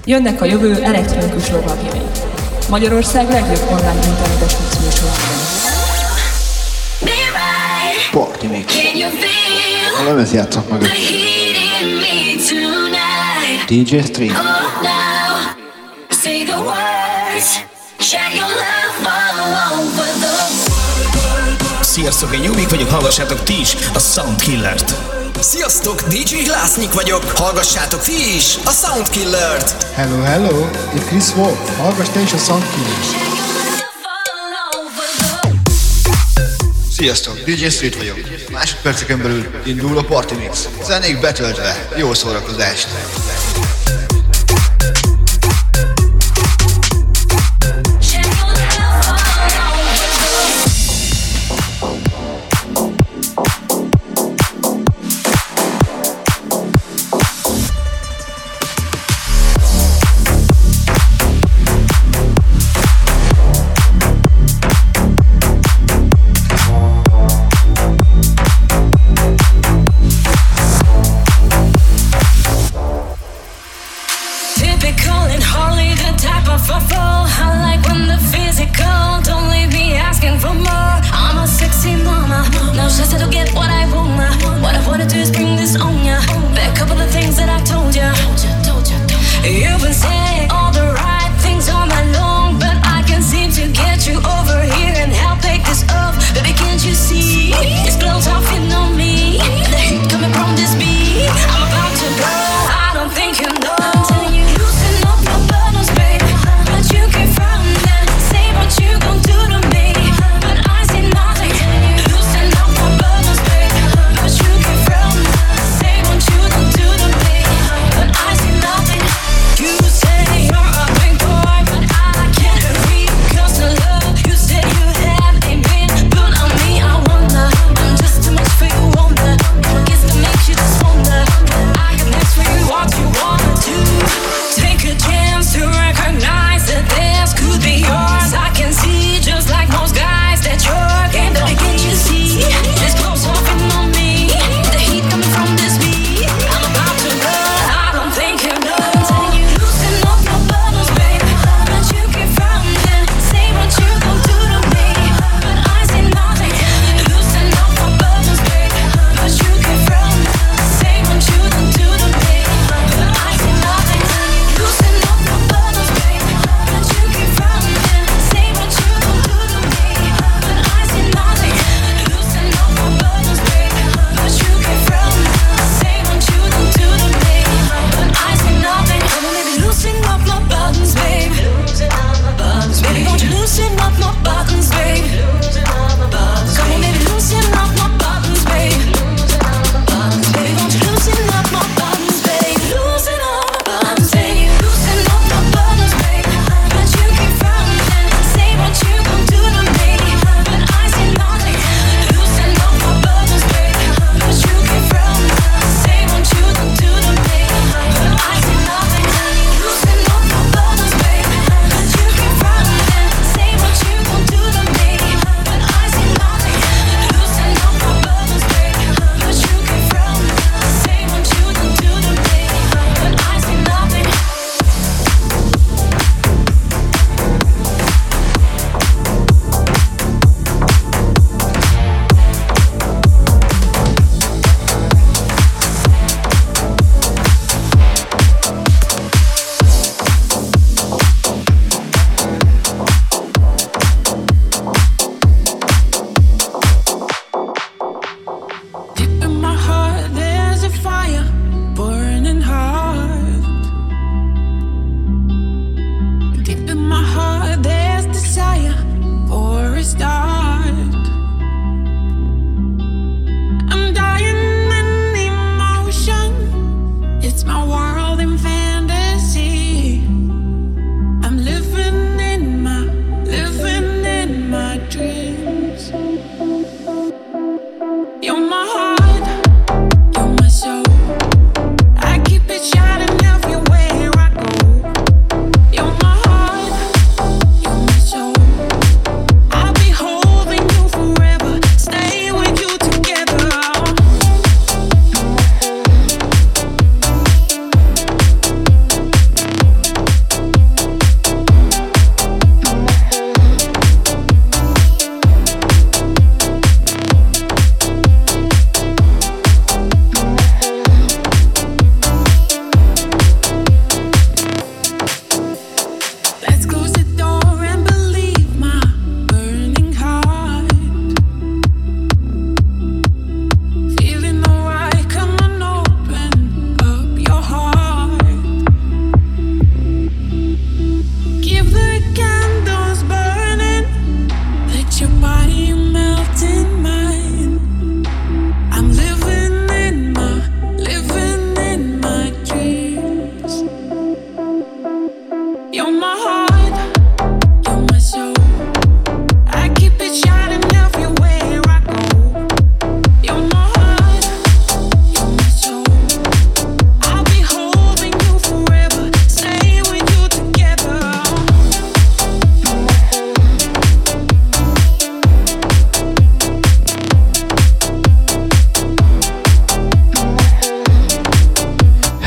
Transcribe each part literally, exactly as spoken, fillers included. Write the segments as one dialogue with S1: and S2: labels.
S1: Jönnek a jövő elektronikus lovagjai. Magyarország legjobb online internetes mixműsorában.
S2: Party Mix. A lemez játszok meg. dé dzsé Stream.
S3: Sziasztok, én Jubik vagyok, hallgassátok ti is a Soundkillert.
S4: Sziasztok, dé dzsé Lásznyik vagyok, hallgassátok ti is a Soundkillert.
S5: Hello, hello, itt Chris Wolf, hallgass te is a Soundkillert.
S2: Sziasztok, dé dzsé Street vagyok. Másodperceken belül indul a Party Mix. Zenék betöltve, jó szórakozást!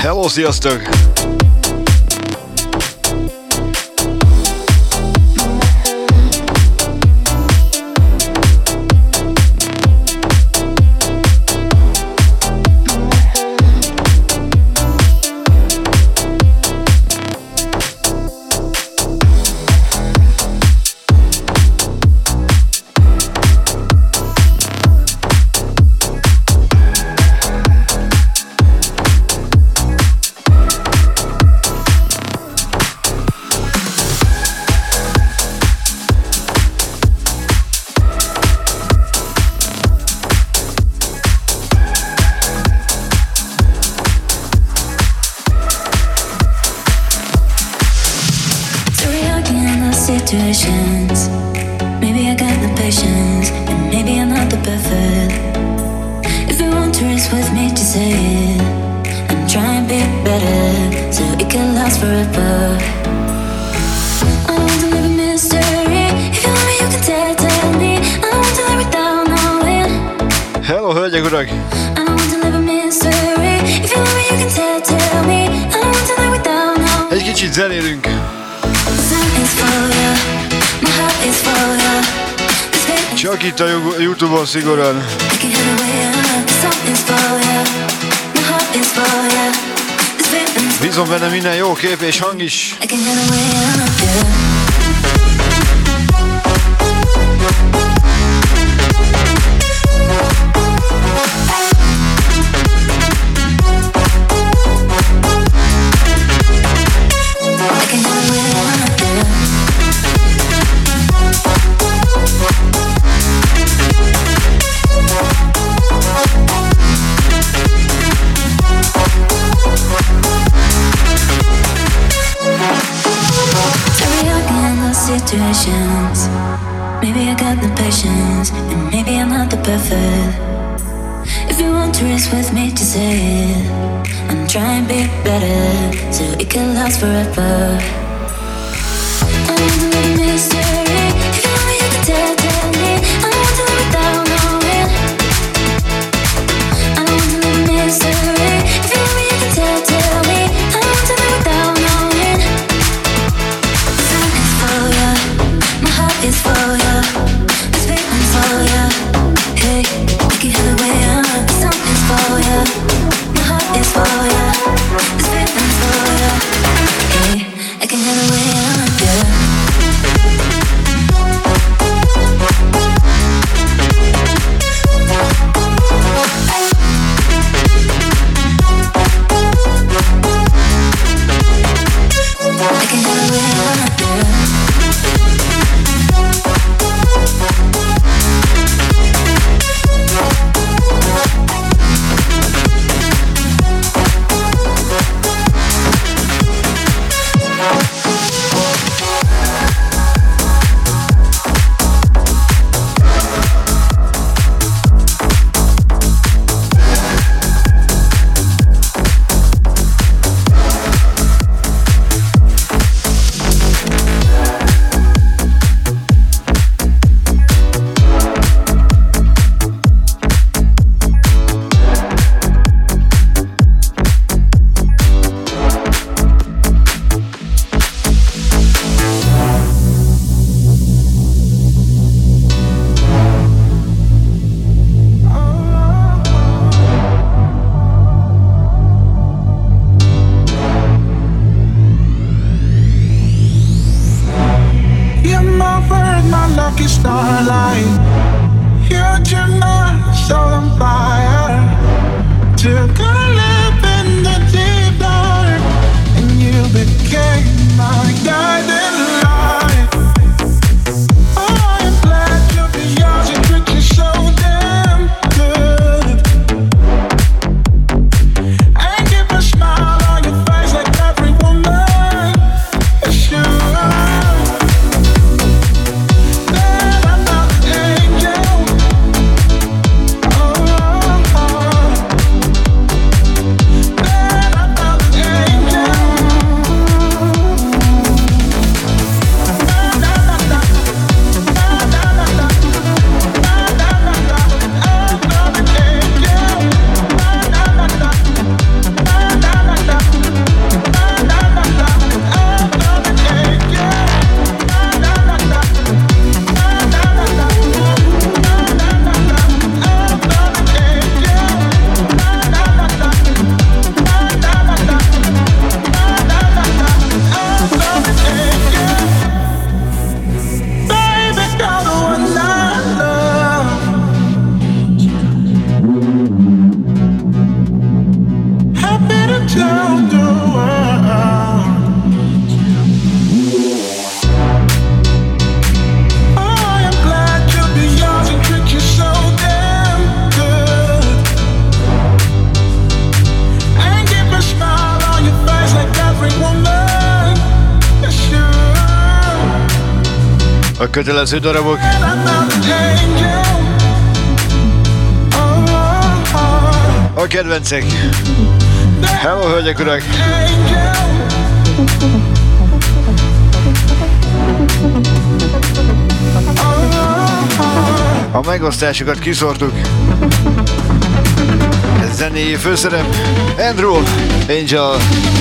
S2: Hello, sziasztok!
S6: Situations. Maybe I got the patience, and maybe I'm not the perfect. If you want to risk with me to say it, I'm trying to be better, so it can last forever. I want to live a mystery. If you want me, you can tell, tell me. I want to live without knowing.
S2: Hello, hölgyek, urak!
S6: I want to live a mystery. If you want me, you can tell, tell me. I want to live without knowing.
S2: Egy kicsit zenélünk. Csak itt a YouTube-on szigorúan. Bízom benne, minden jó kép és hang is.
S6: Situations. Maybe I got the patience, and maybe I'm not the perfect. If you want to risk with me to say it, I'm trying to be better, so it can last forever. I want to live a mystery. If you want me, you can tell, tell me. I want to live without knowing. I want to live a mystery. If you want me, you can tell, tell me. I want to live without knowing. The sun is for ya, my heart is for ya, this feeling's for ya. Hey, I can hear the way up. The sun is for ya, my heart is for ya, this feeling's for ya. Hey, I can hear the way up, yeah.
S7: tell the world. I am glad to be yours and treat you so damn good. And give a smile on your face like every woman should.
S2: A kötelező darabok.
S7: And I'm not an angel. Oh, oh, oh.
S2: A kedvencek. Hello, hölgyek, urak! A megosztásokat kiszórtuk. Zenéi főszerep Andrew Angel.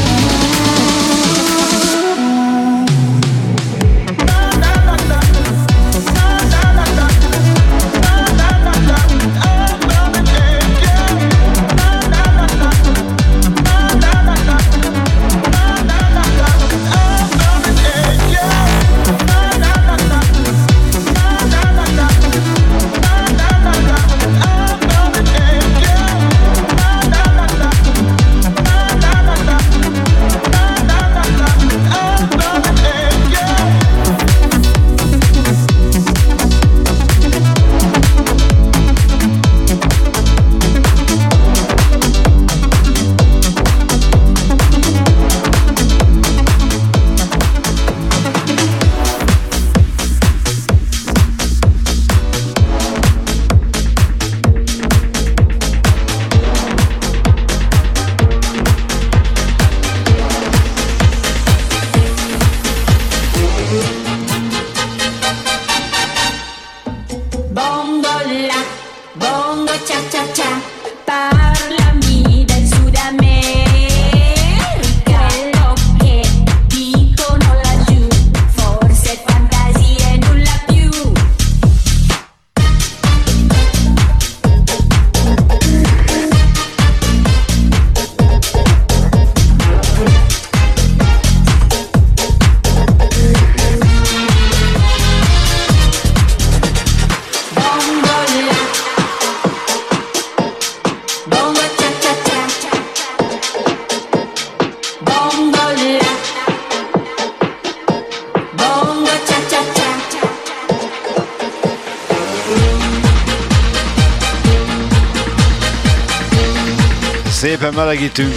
S2: Szépen melegítünk.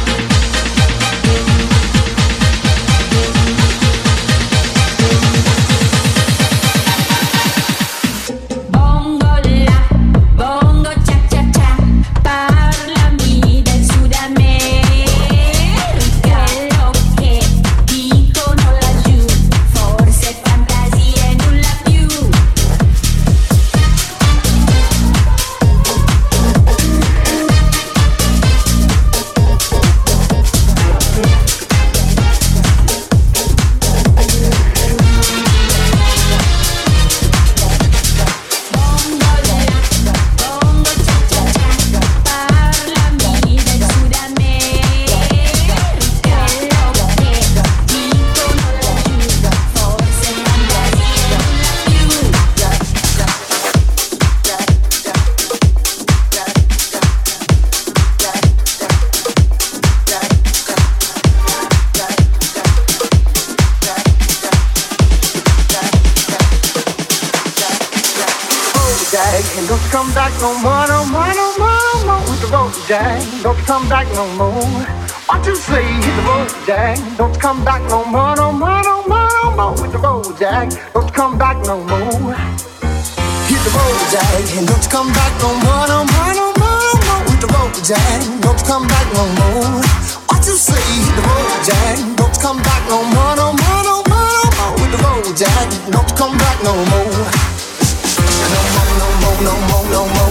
S8: Don't come back no more. What you say? Hit the road, Jack. Don't come back no more, no more, no more, no more. Hit the road, Jack. Don't come back no more. Hit the road, Jack. Don't come back no more, no more, no more, no more. Hit the road, Jack. Don't come back no more. What you say? Hit the road, Jack. Don't come back no more, no more, no more, no more. Hit the road, Jack. Don't come back no more. No more, no more, no more, no more.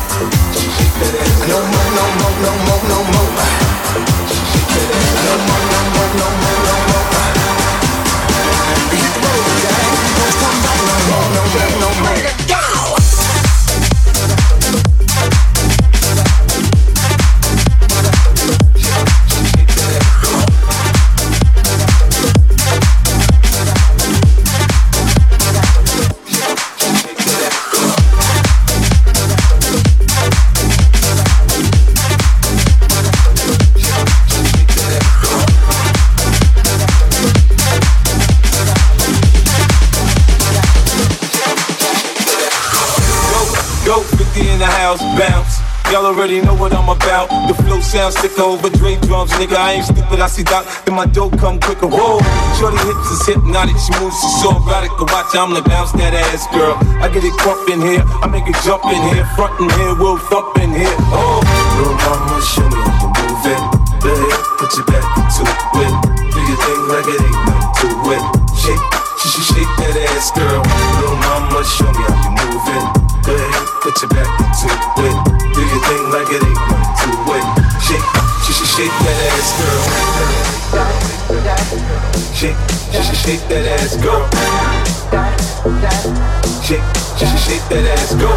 S8: No more, no more, no more, no more. No more, no more, no more, no more. Hit the road, Jack. Don't come back no more, no more, no more. Go!
S9: what I'm about. The flow sounds sicker over Dre drums, nigga. I ain't stupid, I see Doc, then my dough come quicker. Whoa, shorty hips is hypnotic, she moves, she's so erotic. To watch, I'm the bounce that ass, girl. I get it crump in here, I make it jump in here, front in here, we'll thump in here. Oh, little mama, show me how you move it. Go ahead, put your back into it. Do your thing like it ain't nothing to it. Shake, shake, shake that ass, girl. Little mama, show me how you move it. Go ahead, put your back into it. Do your thing like it ain't nothing to it. Shake, shake, shake that ass, girl. Shake, shake, shake that ass, girl. Shake, shake, shake that ass, girl.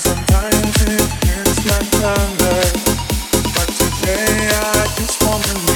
S7: But today I just want to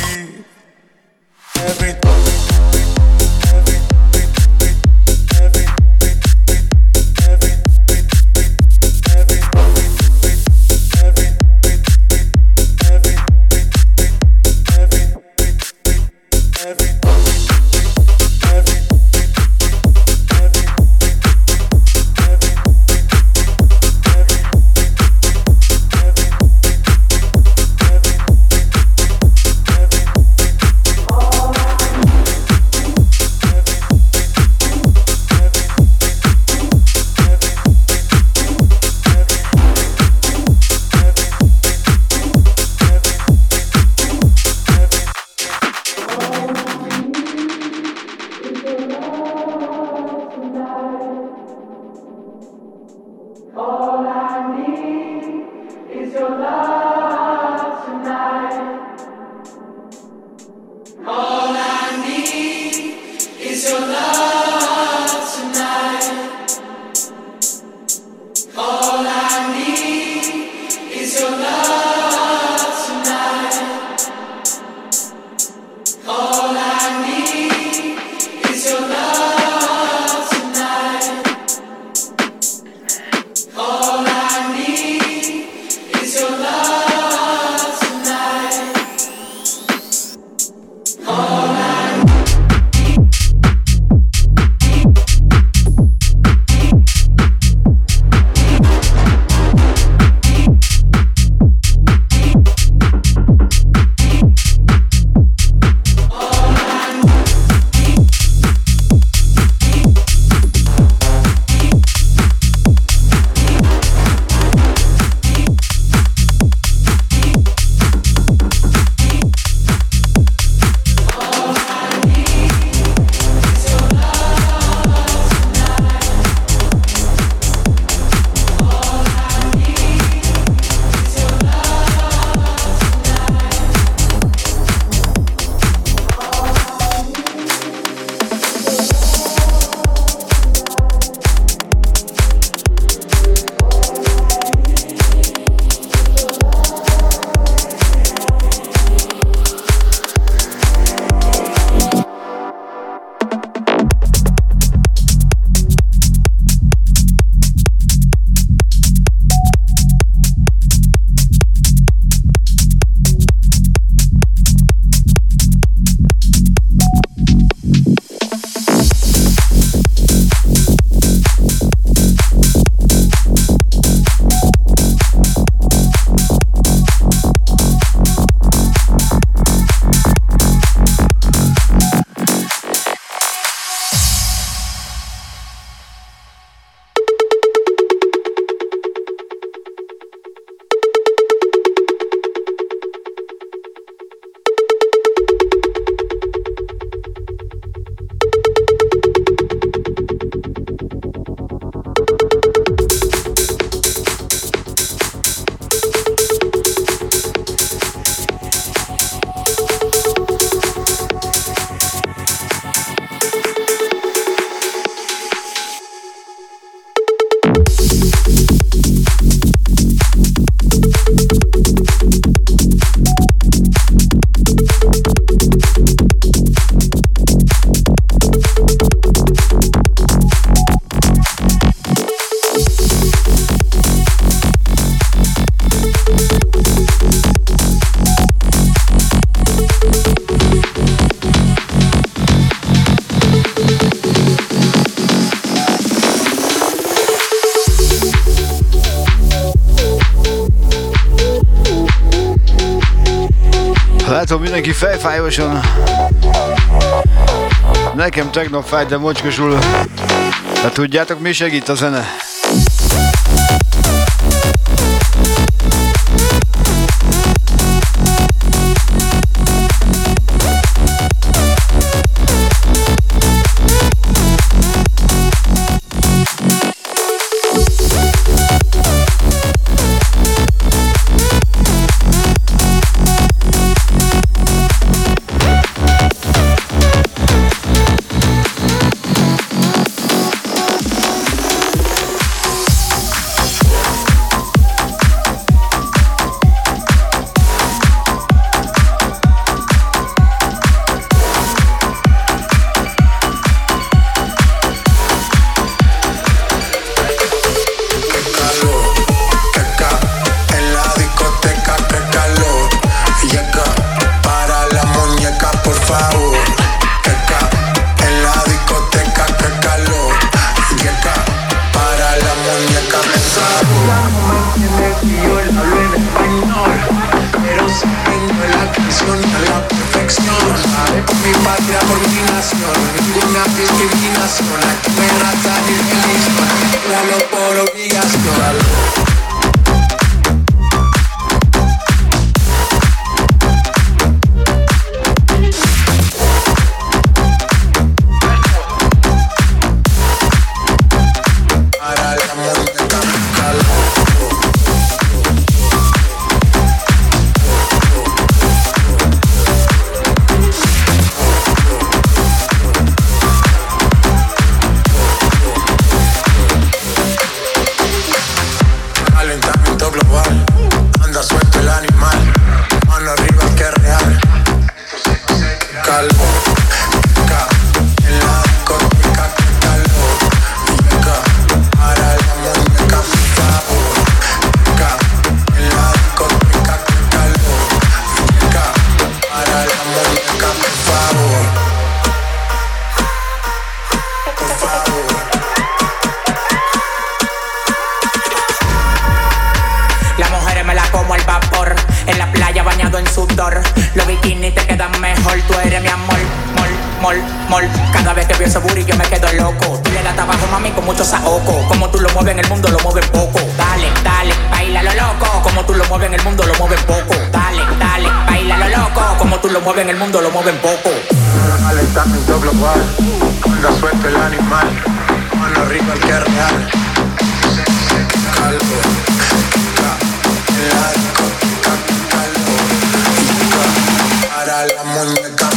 S2: Látom, mindenki fejfájósan. Nekem tegnap fájt, de mocskosul. De tudjátok, mi segít a zene?
S10: la mejor, tú eres mi amor, mol, mol, mol. Cada vez que veo ese booty yo me quedo loco. Tú le das trabajo, mami, con mucho saoco. Como tú lo mueves en el mundo, lo mueves poco. Dale, dale, baila lo loco. Como tú lo mueves en el mundo, lo mueves poco. Dale, dale, baila lo loco. Como tú lo mueves en el mundo, lo mueven poco.
S11: Calentamiento global, cuando suelta el animal, mano rico el que es real. Calvo, el arco, calvo, para la muñeca,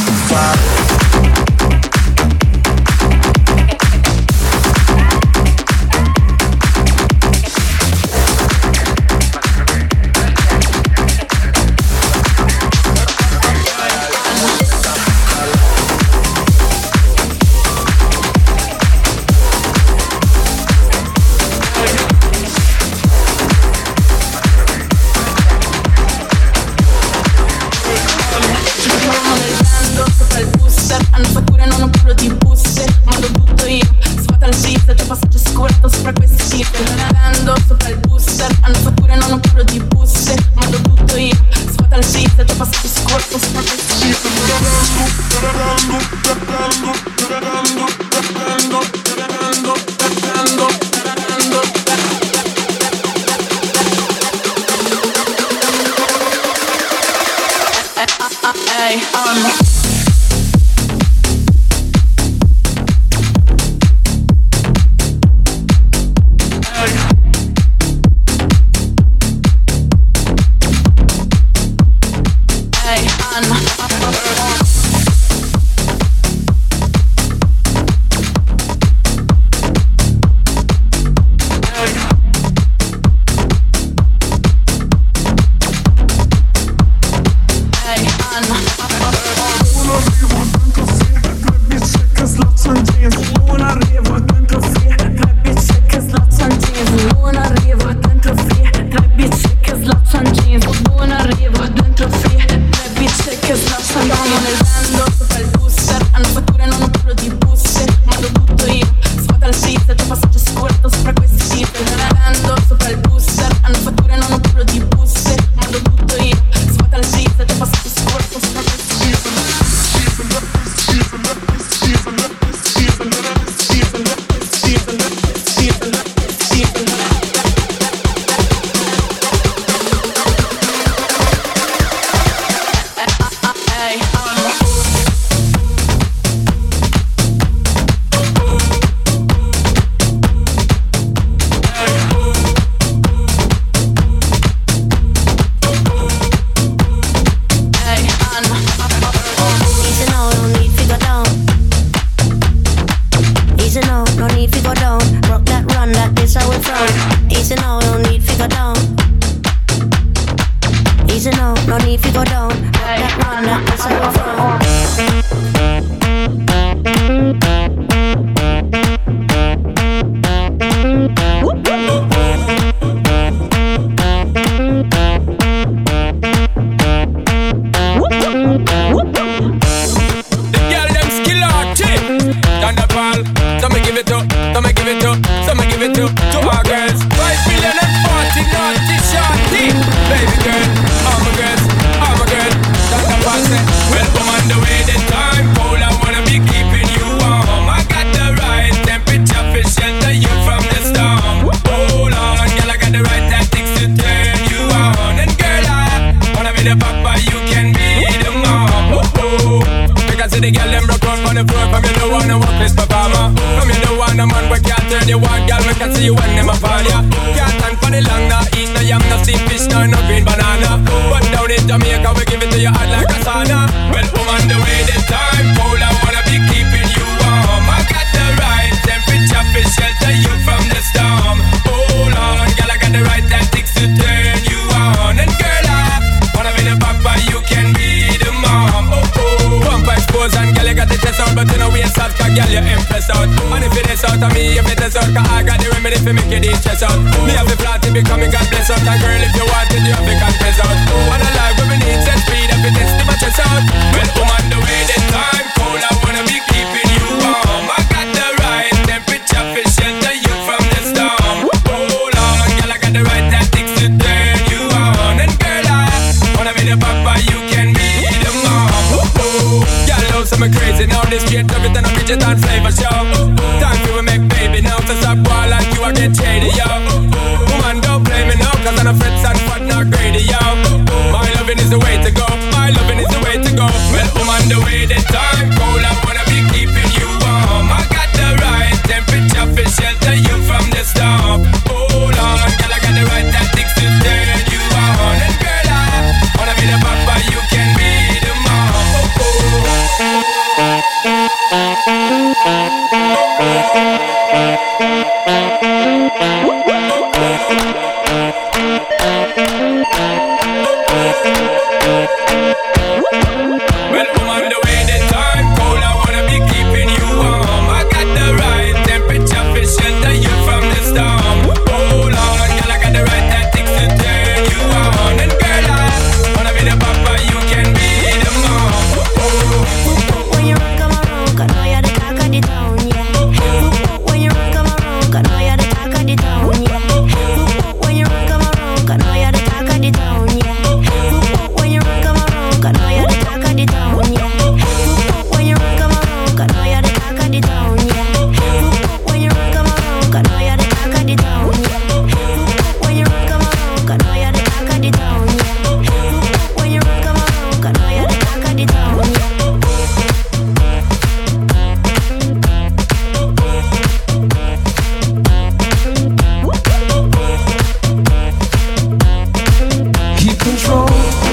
S12: Papa, you can be the mom. me crazy now. This straight love it and a midget and flavor show. Time for we make baby now. So stop war like you are get shady, yo. Woman, don't blame me now, cause I'm a fret and fat not greedy, yo. My loving is the way to go. My loving is the way to go. Well, woman, the way the time cold, I wanna be keeping you warm. I got the right temperature for shelter you from the storm. Hold on, girl, I got the right tactics to turn you on. And girl, I wanna be the papa, you can be the mom. Oh, well, woman, the way the time cold, I wanna be keeping you warm. I got the right temperature for shelter you from the storm. Hold on, girl, I got the right tactics to turn you on. And girl, I wanna be the papa, you can be the mom.
S6: When you run, come around, I know you're the talk of the town, yeah. When you run, come around, I know you're the talk of the town, yeah. When you run, come around, I know you're the talk of the town, yeah. When you run, come around, I know you're the talk of the town, yeah. When you run, come around, I know you're the talk of the town, yeah. When you run, come around, I know you're the talk of the town, yeah. When you run, come around, I know you're the talk of the town, yeah. When you run, come around, I know you're the talk of the town, yeah.
S12: Keep control.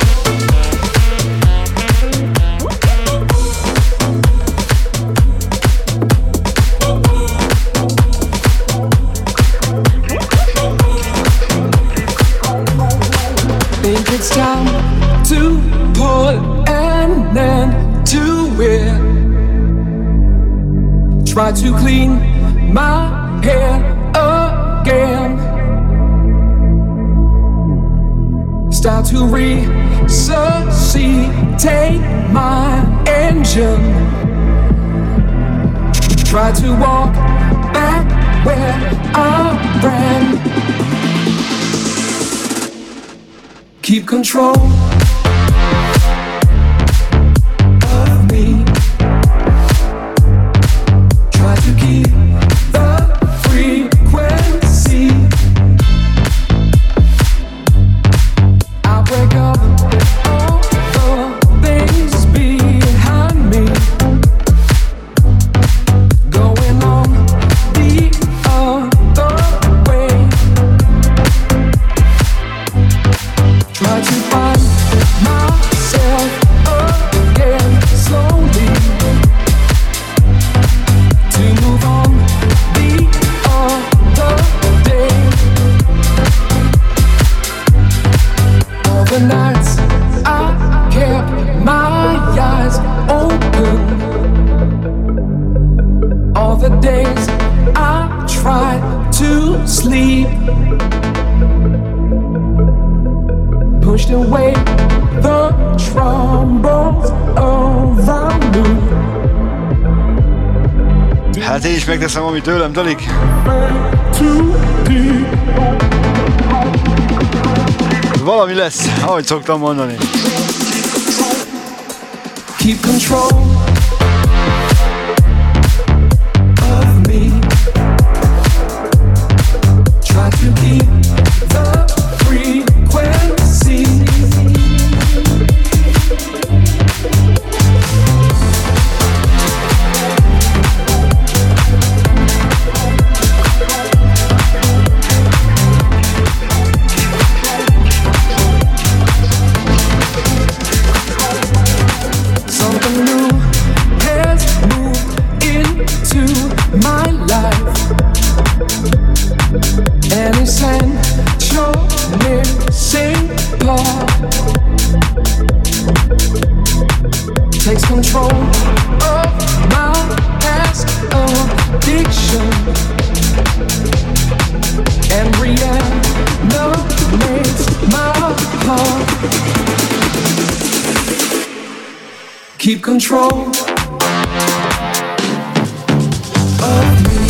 S12: Think it's time to put an end to it. Try to clean my hair again. Start to resuscitate my engine. Try to walk back where I ran. Keep control of me. Try to keep the frequency. I break up all the things behind me. Going on the other way. Try to find myself again slowly. To move on the other day. All the nights I kept my eyes open. All the days I tried to sleep. Pushed away the troubles around me.
S2: Hát én is megteszem, ami tőlem telik. Valami lesz, ahogy szoktam mondani.
S12: Keep control of me. Try to keep the frequency. Something new has moved into my life. An essential missing part takes control of my past addiction and reanimates my heart. Keep control of me.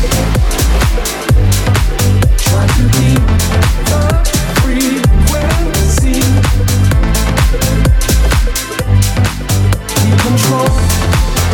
S12: Try to keep the frequency. Keep control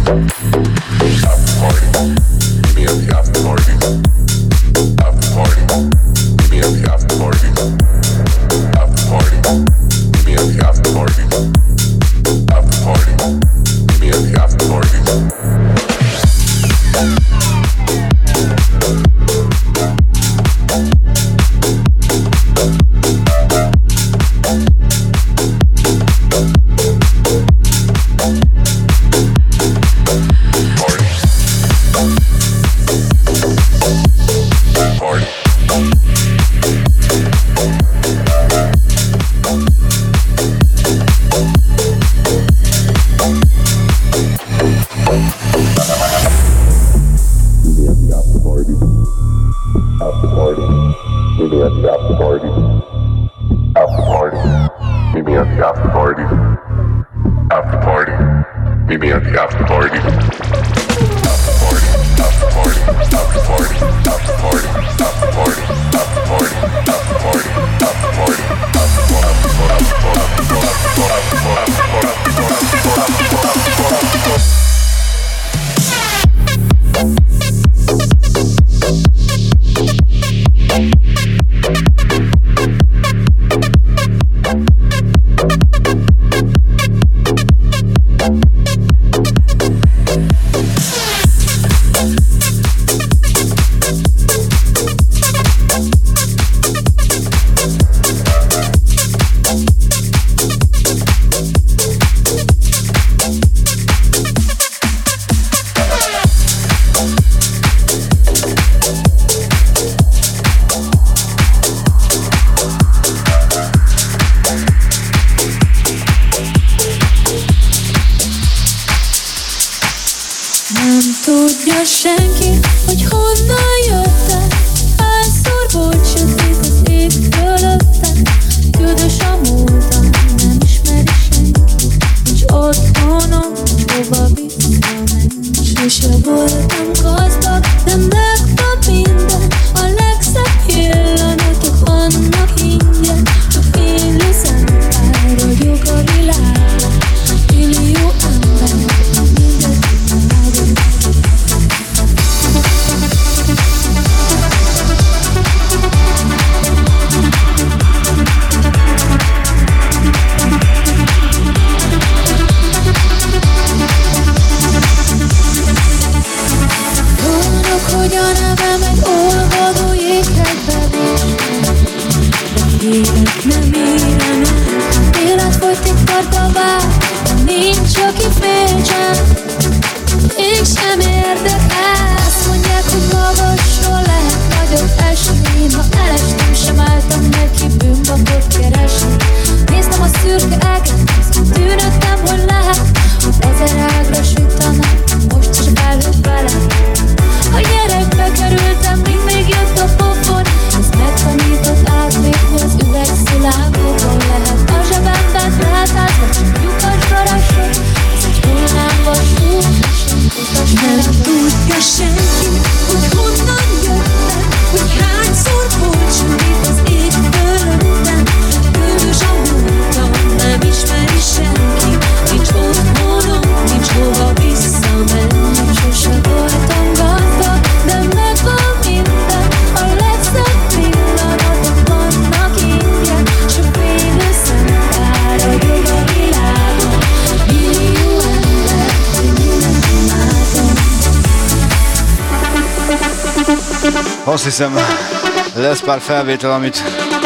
S2: Azt hiszem, lesz pár felvétel, amit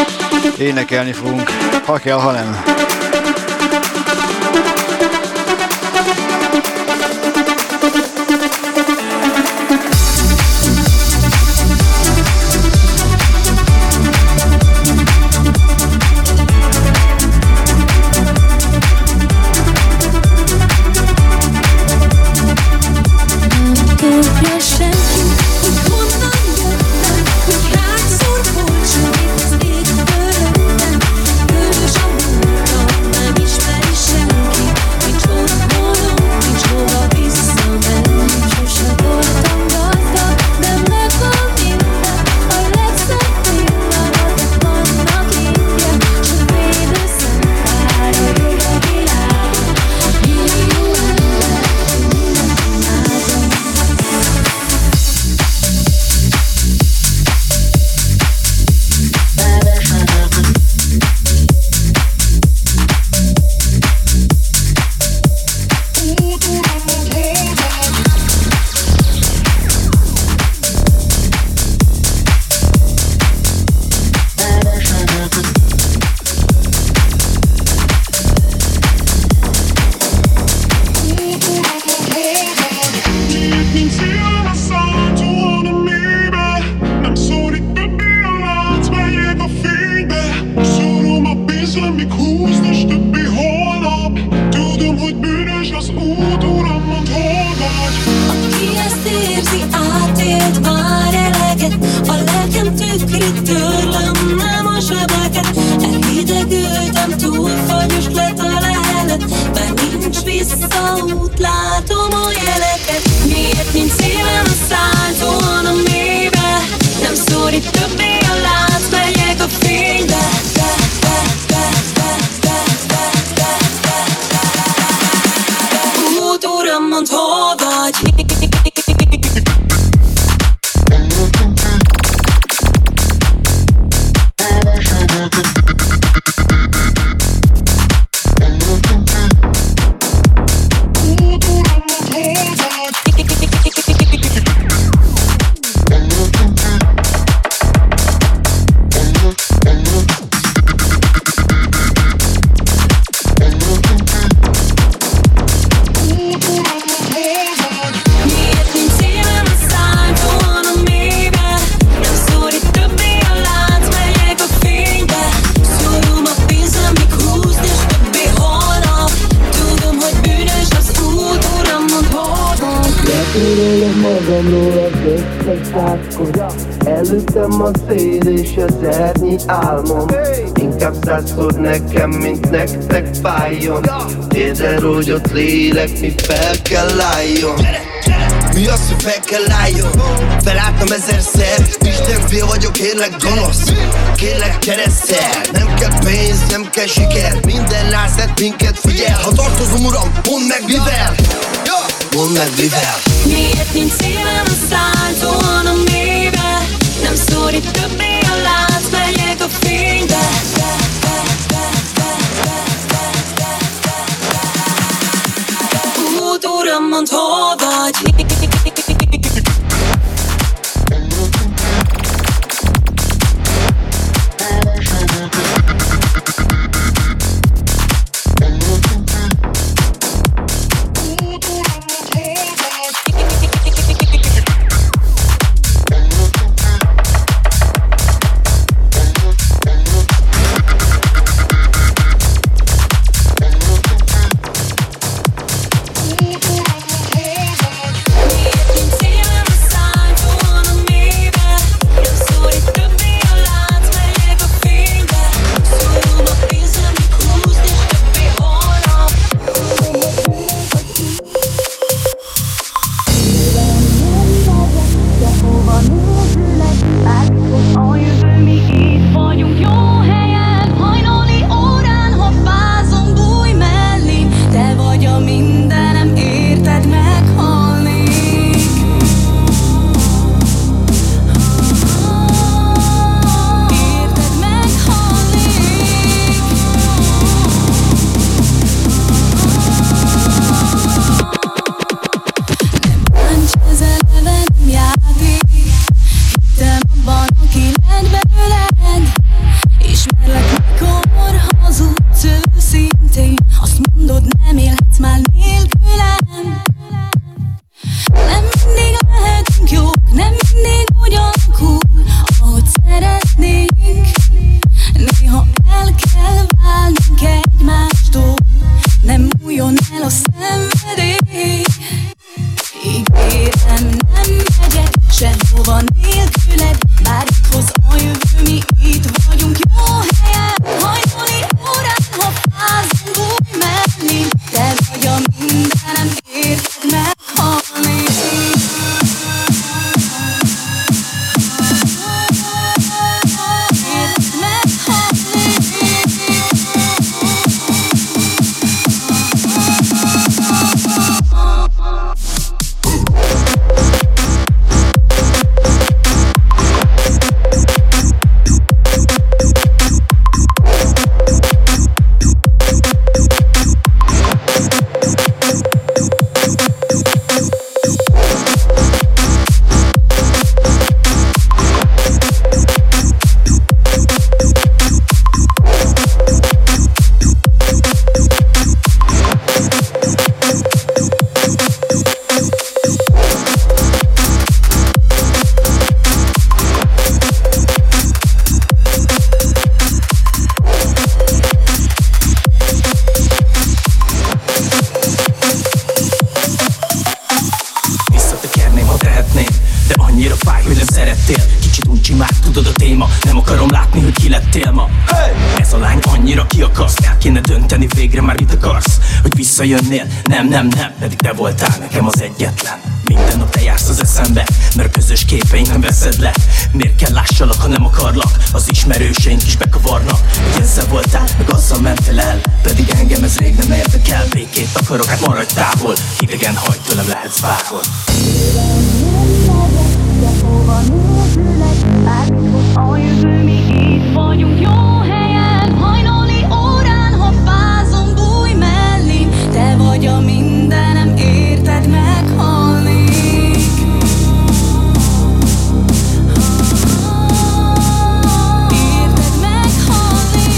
S2: énekelni fogunk, ha kell, ha nem.
S6: Hányszor volt, hogy itt az ég fölöttem, bős a múltam,
S13: Törölöm magamról az összes százszor. Előttem a szél és az ernyi álmom. Inkább százszor nekem, mint nektek fájjon. Érzel, hogy ott lélek, mi fel kell álljon.
S4: Mi az, hogy fel kell álljon? Felálltam ezerszer, Isten fél vagyok, kérlek gonosz. Kérlek kereszel, nem kell pénz, nem kell siker. Minden rászed minket figyel. Ha tartozom uram, mondd meg mivel. Mondd meg mivel.
S6: Miért nincs szívem a szálltóan a mélybe? Nem szórít többé a lánc, megyek a fénybe. Út, uram, mondd, hol vagy?
S3: Jönnél? Nem, nem, nem, pedig te voltál nekem az egyetlen. Minden nap te jársz az eszembe, mert a közös képeink nem veszed le. Miért kell lássalak, ha nem akarlak? Az ismerőseink is bekavarnak. Hogy ezzel voltál, meg azzal mentél el, pedig engem ez rég nem érdekel. Békét akarok, hát maradj távol. Hidegen hagyd, tőlem lehetsz bárhol.
S6: A jövő, mi itt vagyunk jó helyen. Hajnali órán, ha fázom, bújj mellém. Te vagy a mindenem, érted, meghalnék. Érted, meghalnék.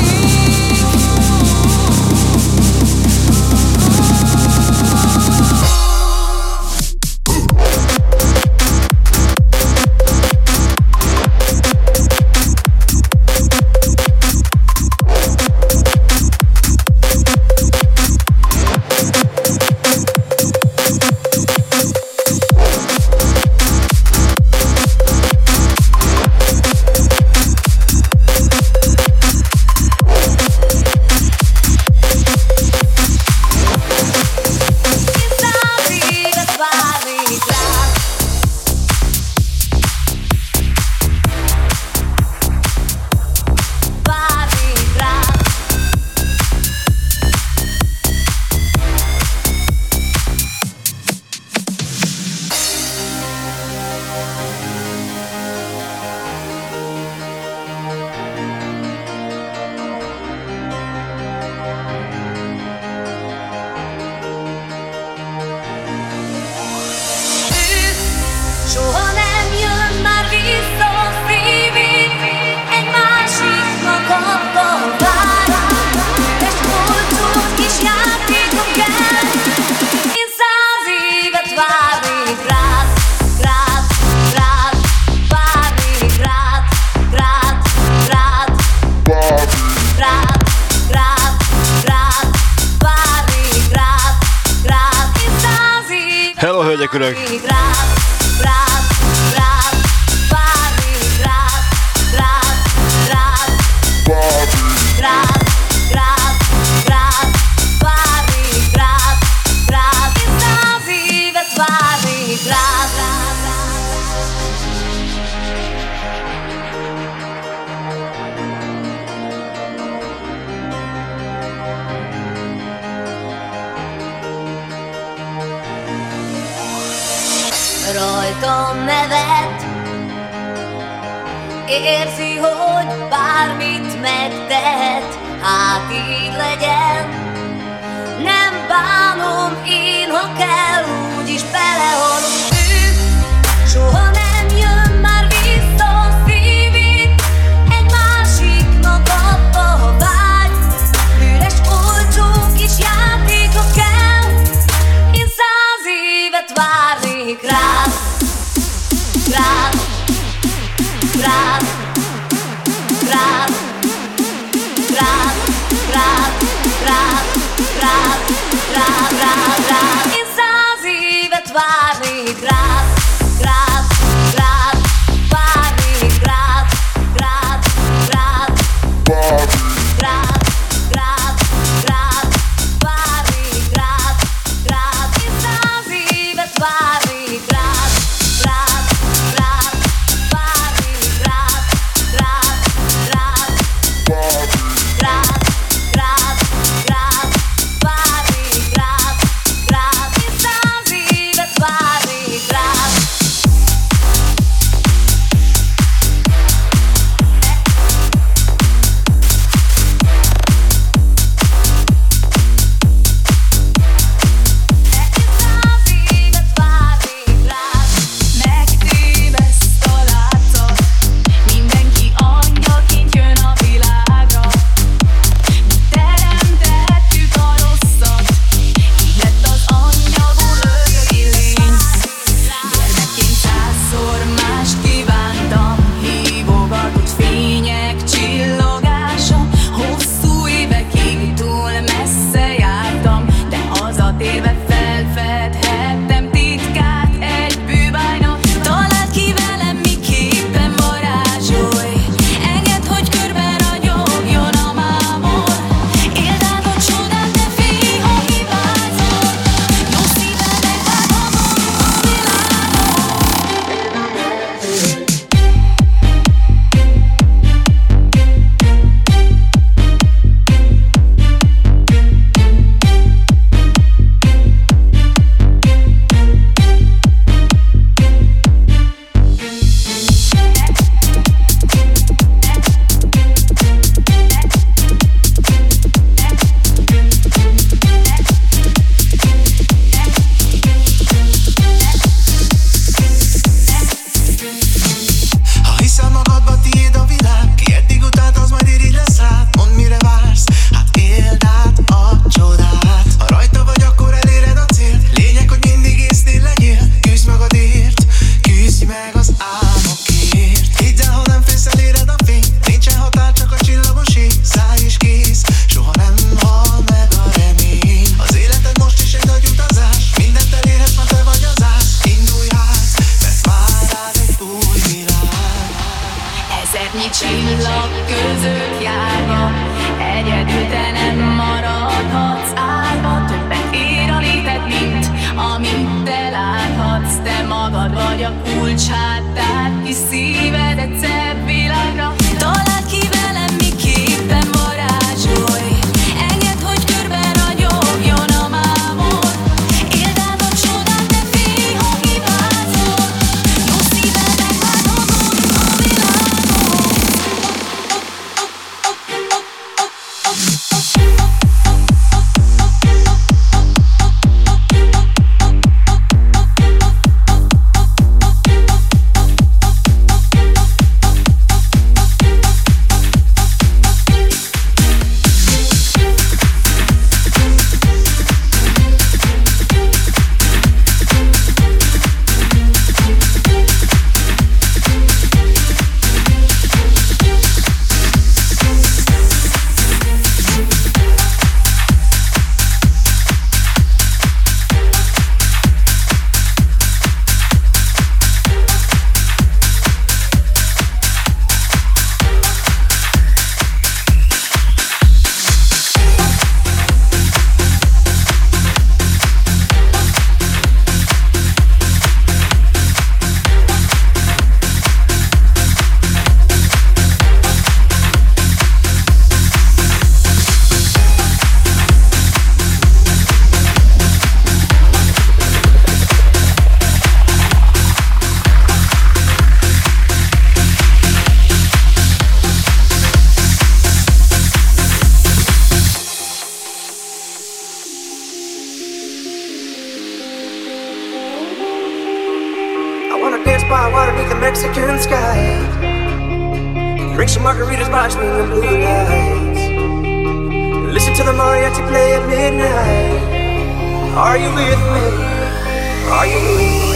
S2: nélkülök.
S6: Rajtam nevet, érzi, hogy bármit megtehet, hát így legyen. Nem bánom én, ha kell, úgyis belehalunk. Ő soha nem jön már vissza a szívét, egy másiknak adta, ha vágy. Üres olcsó kis játéka kell, én száz évet várnék rád. Rád, rád, rád, rád, rád, rád, rád, rád, rád, rád. Én száz évet várnék rád, rád, rád, várnék rád, rád, rád, rád, rád, rád, rád, várnék rád, rád. Én száz évet várnék rád.
S14: spot water beneath the Mexican sky. Drink some margaritas watching the blue lights. Listen to the mariachi play at midnight. Are you with me? Are you with me?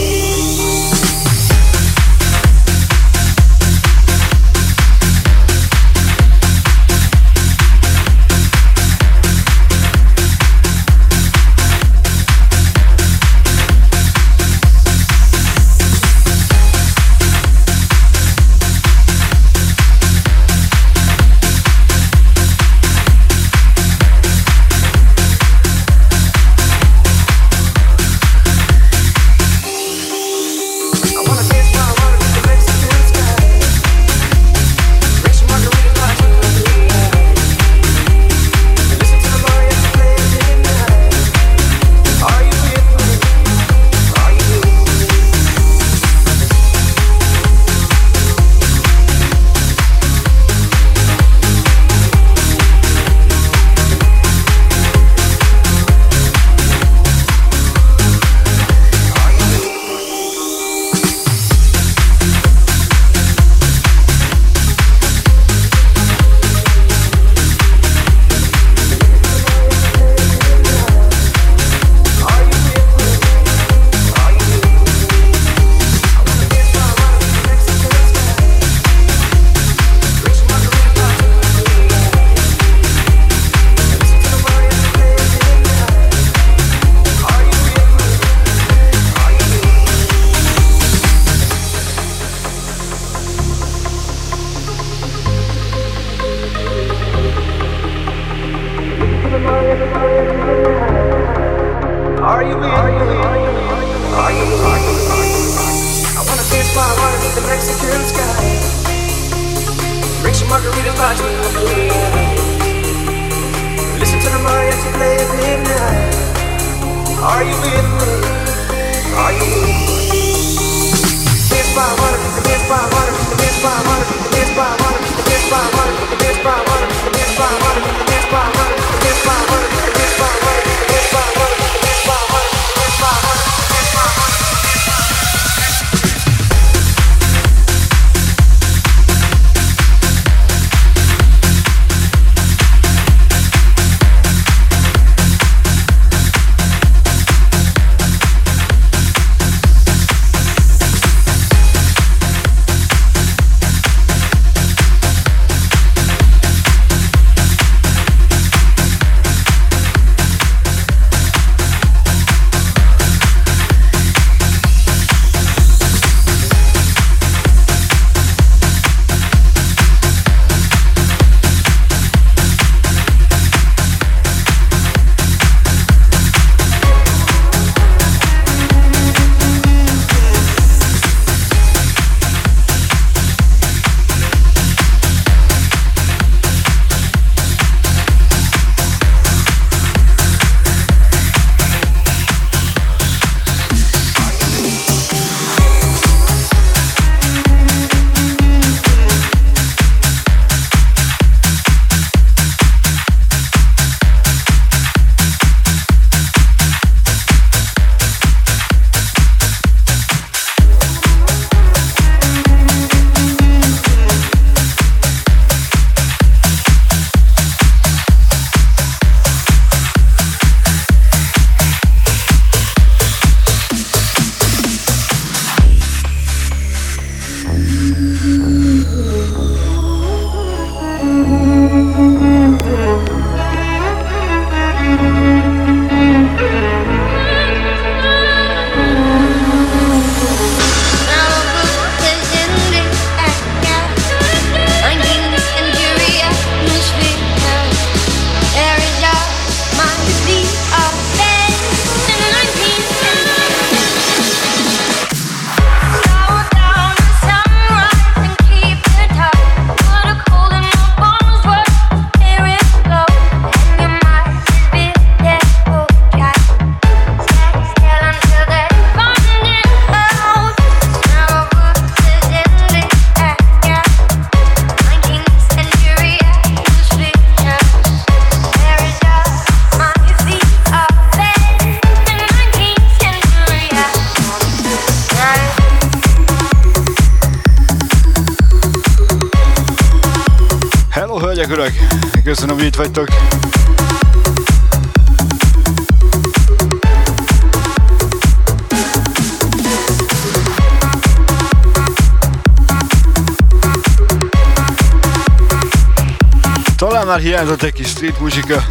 S2: Megyek, urak! Köszönöm, hogy itt vagytok! Talán már hiányzott egy kis street muzsika.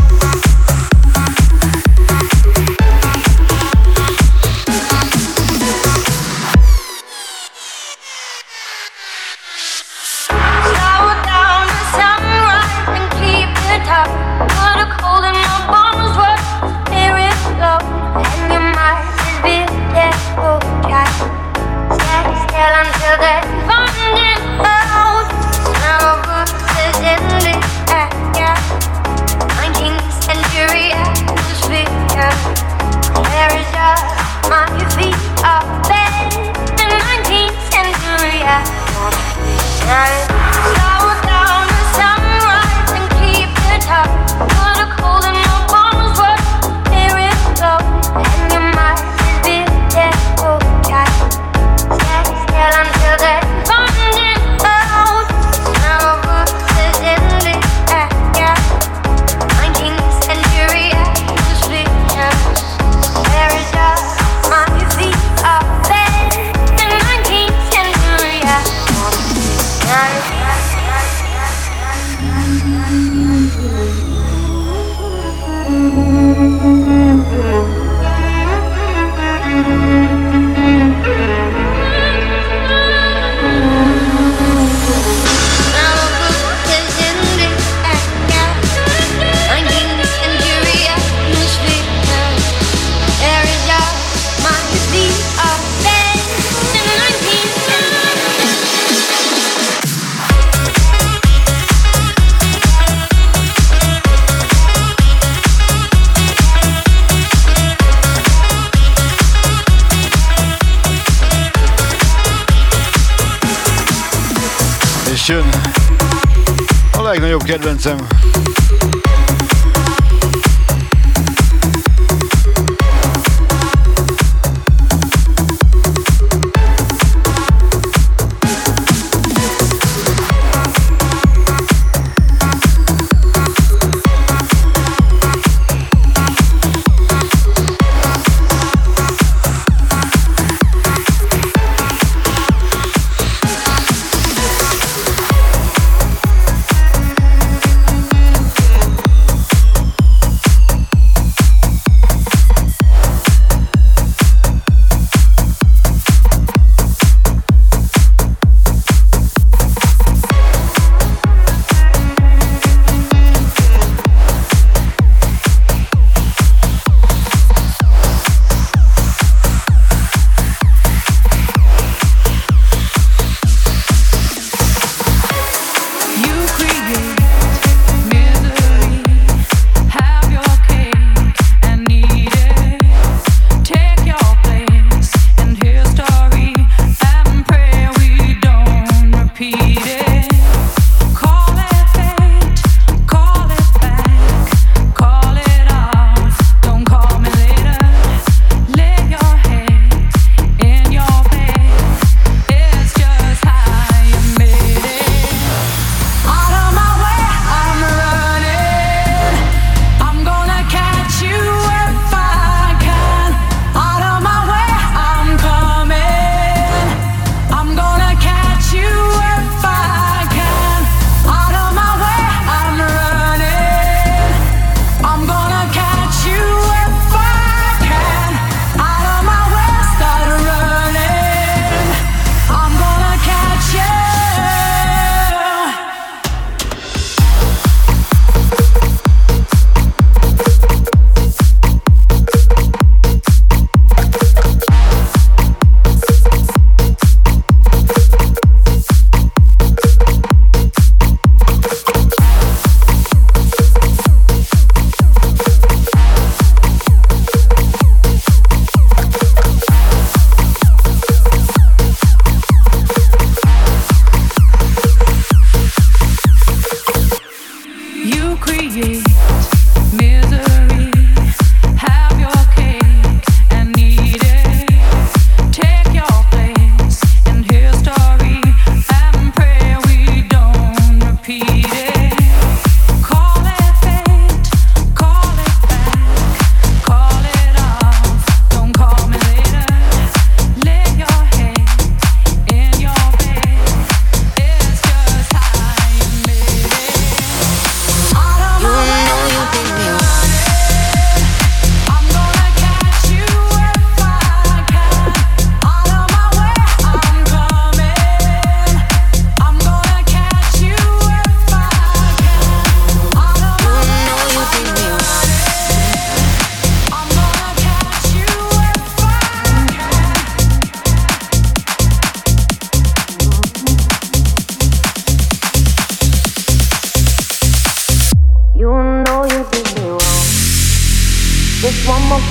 S2: Jön a legnagyobb kedvencem.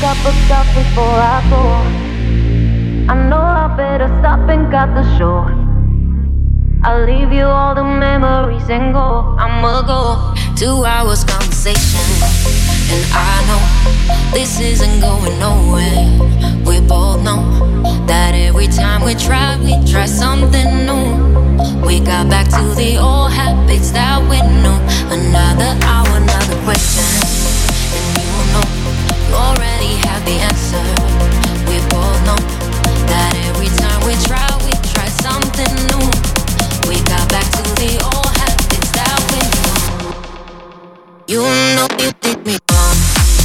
S6: cup of coffee before I go. I know I better stop and cut the show. I'll leave you all the memories and go. I'ma go. Two hours conversation, and I know this isn't going nowhere. We both know that every time we try, we try something new. We got back to the old habits that we knew. Another hour, another question, and you know you already have the answer. We both know that every time we try, we try something new. We got back to the old habits that we knew. You know you did me wrong.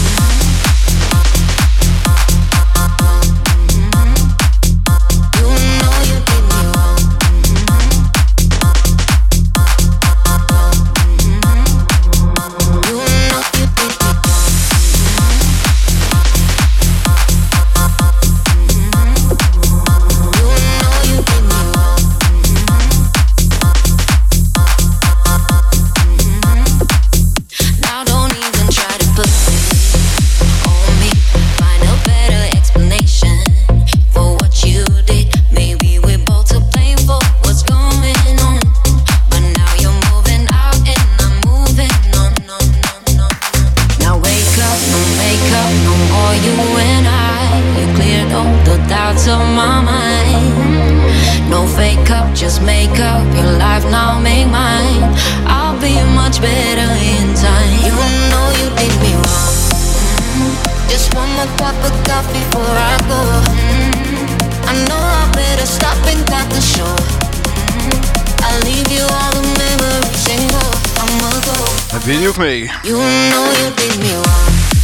S2: Believe me.
S6: You know you did me wrong.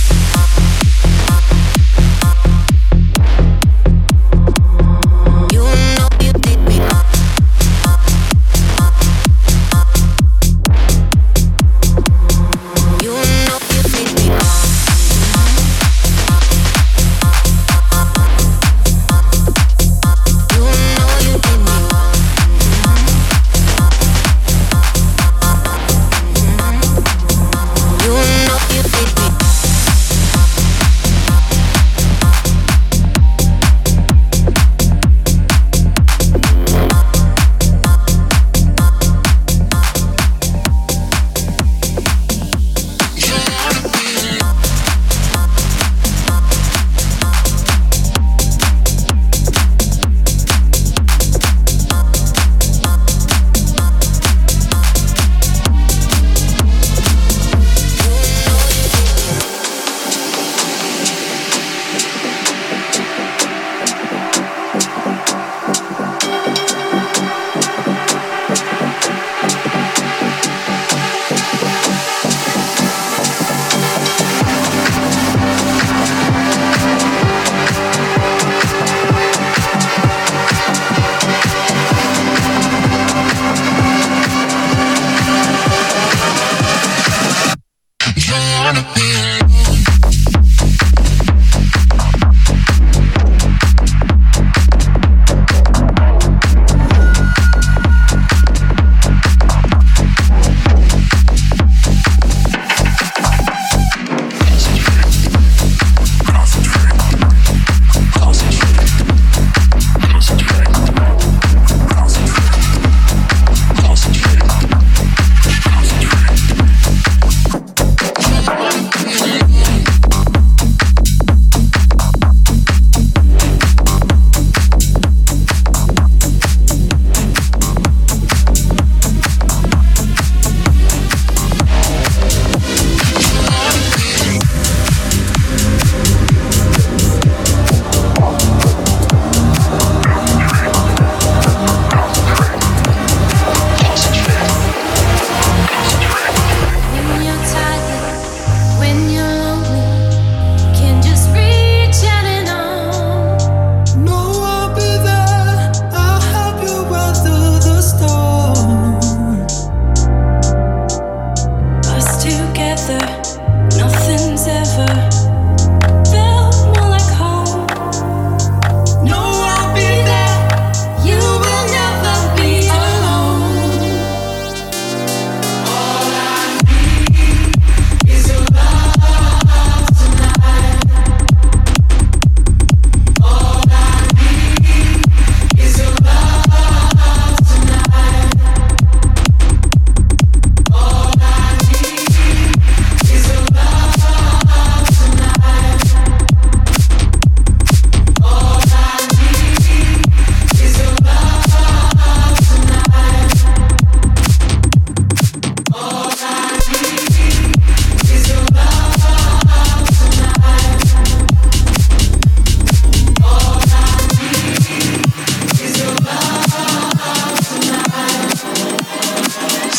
S6: You know you did me wrong. You know you did me wrong. You know you did me wrong. You know you did me.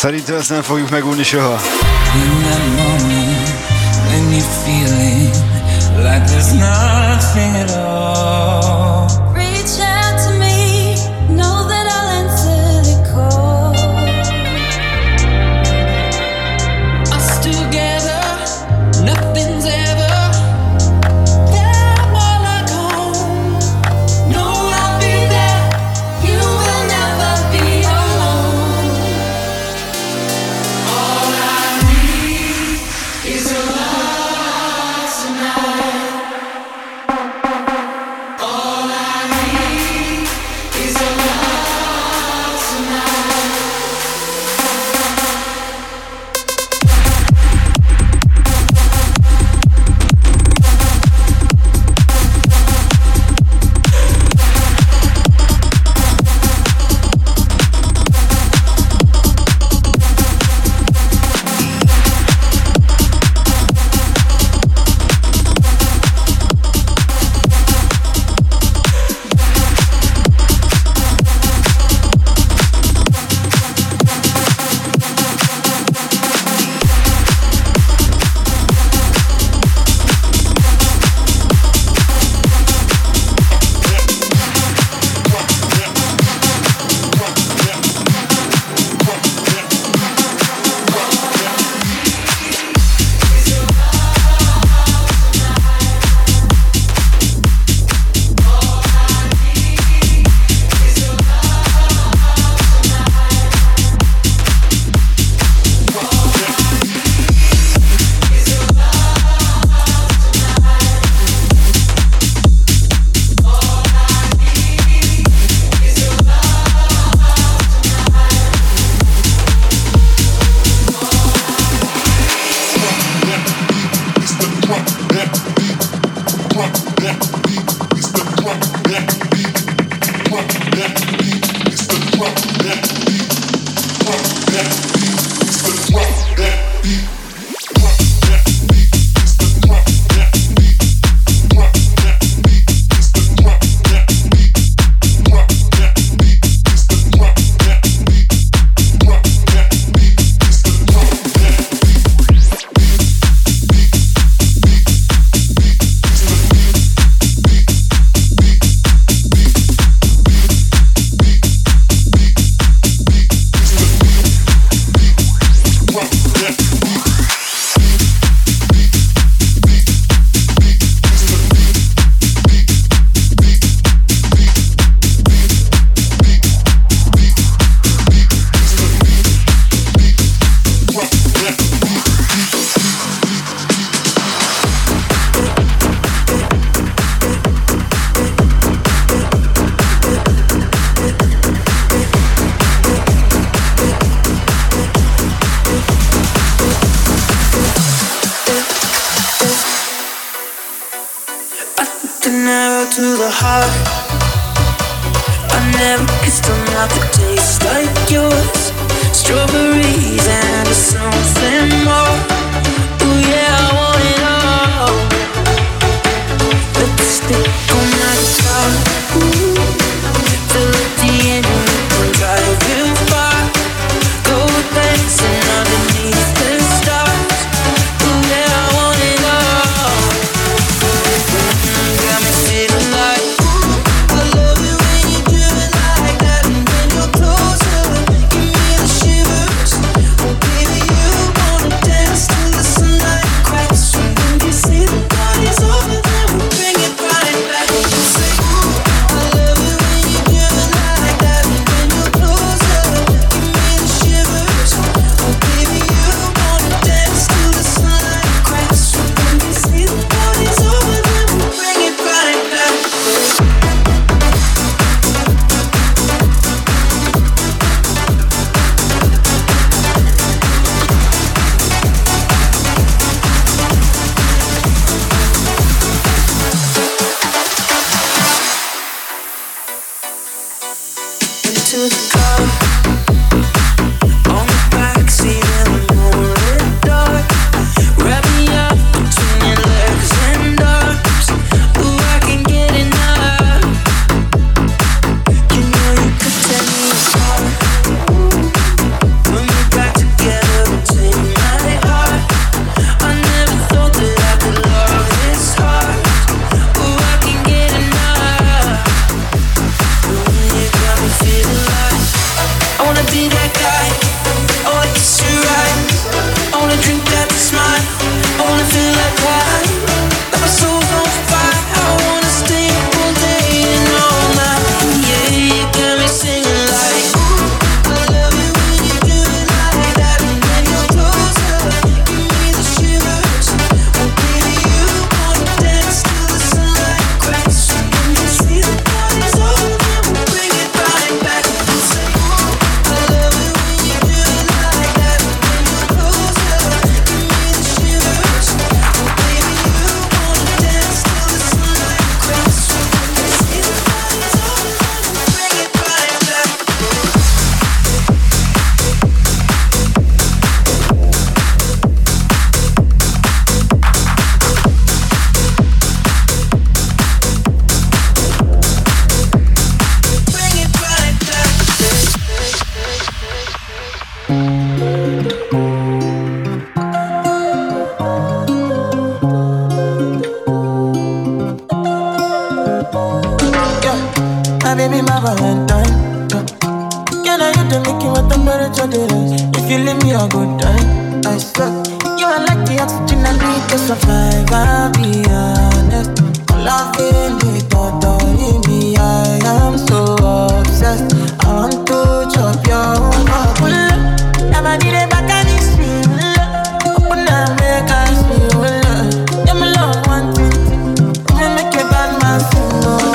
S2: Szerintem ezt nem fogjuk megunni soha.
S15: In that moment, when you're feeling like there's nothing at all,
S6: reach out to me, know that I'll answer the call.
S15: us together, nothing's ever that more like home.
S6: No, I'll be there, you will never be alone.
S15: All I need is your love tonight. All I need is your love tonight.
S14: An arrow to the heart. I never kissed a mouth that tastes like yours. Strawberries and something more. Ooh yeah, I want it all. Lipstick on my guitar. Ooh, till at the end you can drive you far. Go dancing underneath the stars. Ooh yeah, I want it all. Got me feeling like ooh, I love it when you do it like that. And when you're closer, give me the shivers. Oh baby, you wanna dance till the sunlight cracks. And when you see the party's over, then we'll bring it right back. You say ooh, I love it when you do it like that. And when you're closer, give me the shivers. Oh baby, you wanna dance till the sunlight cracks. And when you see the party's over, then we'll bring it right back. Into the car, on the backseat in the moonlit dark. Wrap me up between your legs and arms. Ooh, I can get enough. You know you could tear me apart. Put me back Valentine. Can I hit the making what temperature they rise? If you leave me a good time, I swear. You are like the oxygen I need to survive. I'll be honest. Loving the thought of me, I am so obsessed. I want to chop your own. Never did it back and it's real. Open up, make us feel. Yeah, my love one thing. Me make a bad man sing.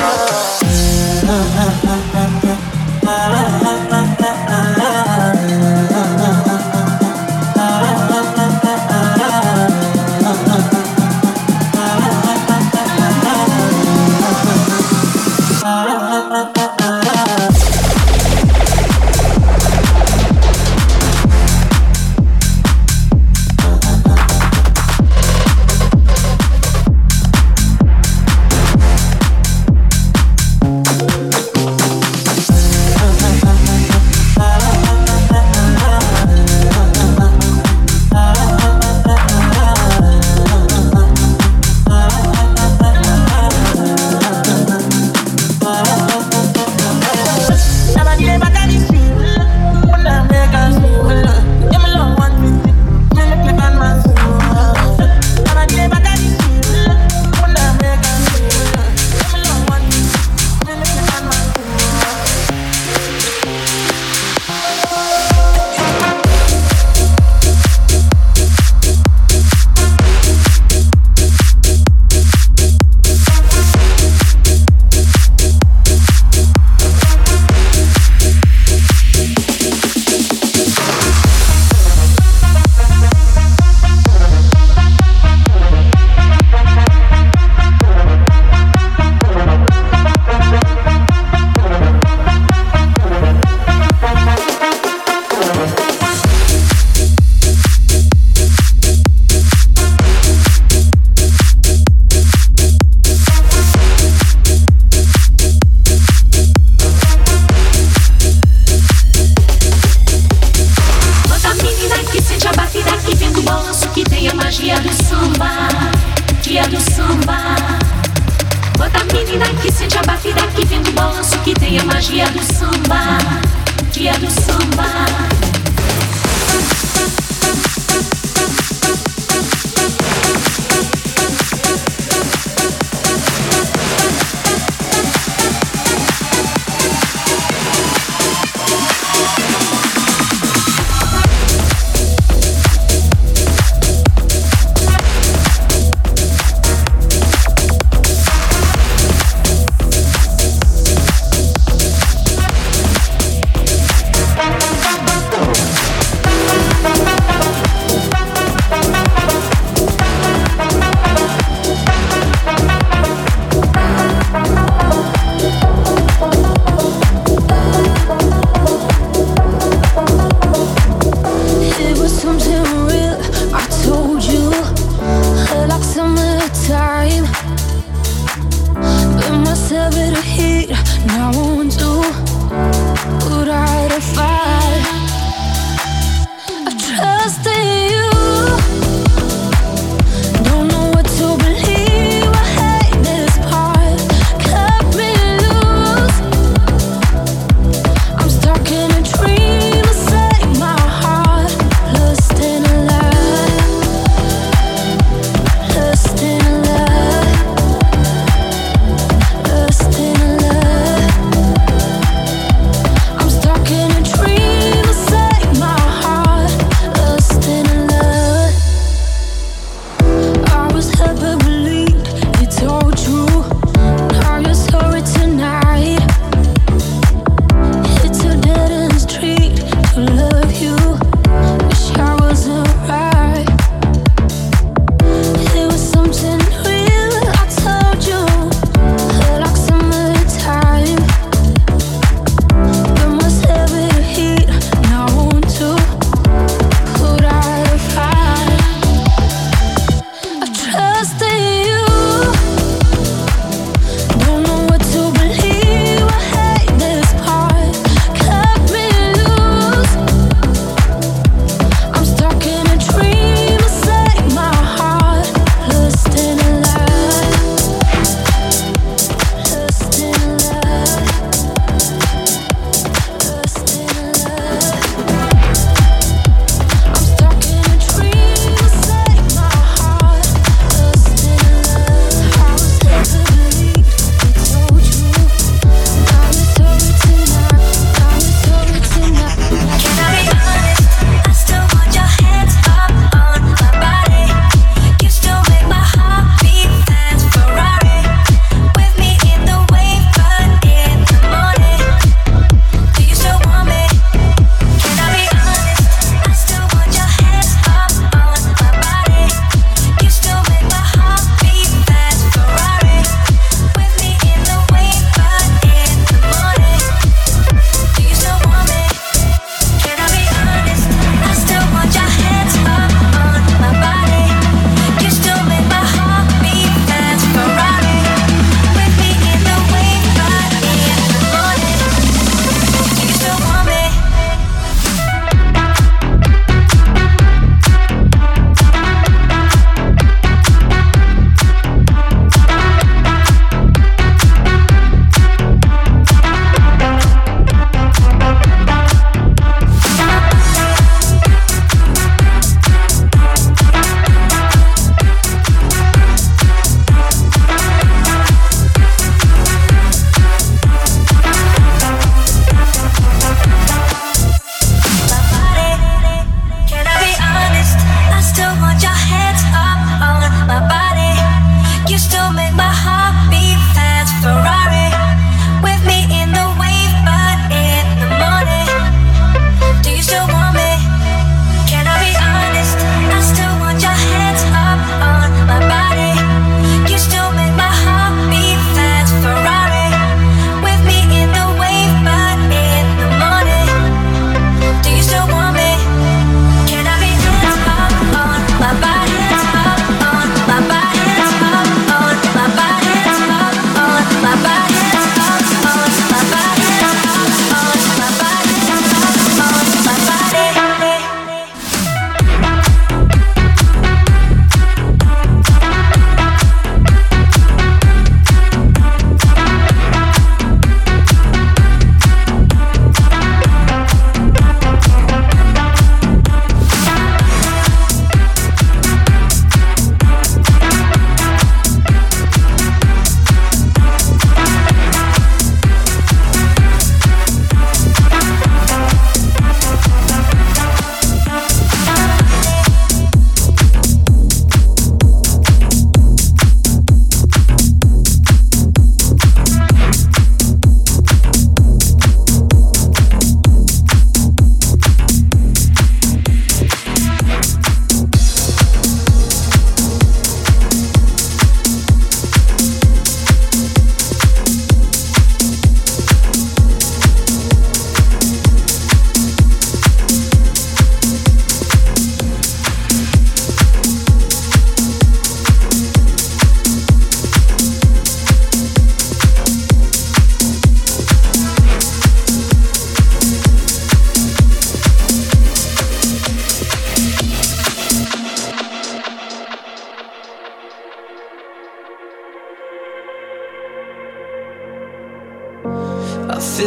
S6: Bye.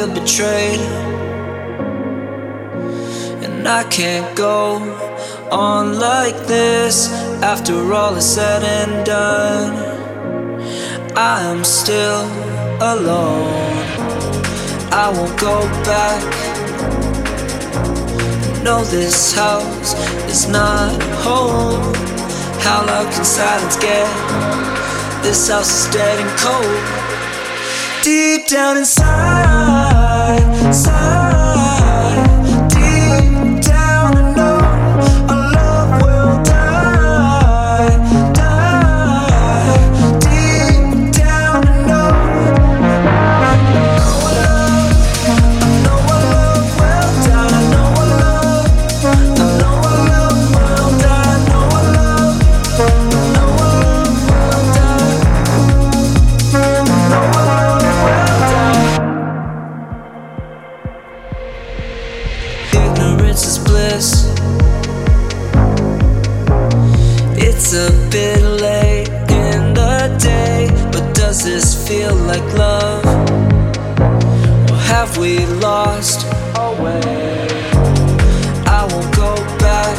S16: feel betrayed, and I can't go on like this. After all is said and done, I am still alone. I won't go back. No, this house is not home. How loud can silence get? This house is dead and cold. Deep down inside, inside, deep down I know our love will die, die. Deep down I know, I know our love, I know our love will die. I know our love, I know our love will die. I know our love, I know our love will die. I know our love will die. Ignorance is bliss. It's a bit late in the day, but does this feel like love? Or have we lost our way? I won't go back.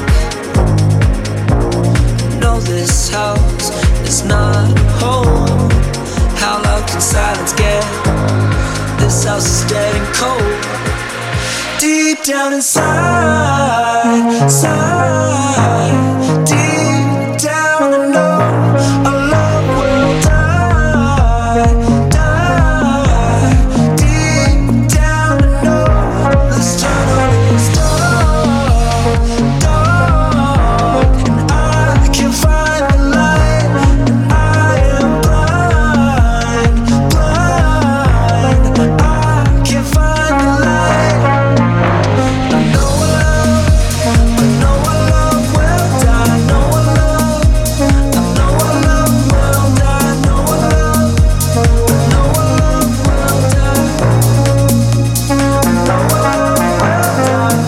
S16: No, this house is not home. How loud can silence get? This house is dead and cold. Deep down inside, inside, deep down I know our love will die, die. Deep down I know this tunnel is dark, dark, and I can't find the light, and I am blind, blind. I can't find the light. I know our love, I know our love will die. I know our love, I know our love will die. I know our love, I know our love will die. I know our love will die.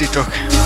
S2: indítok.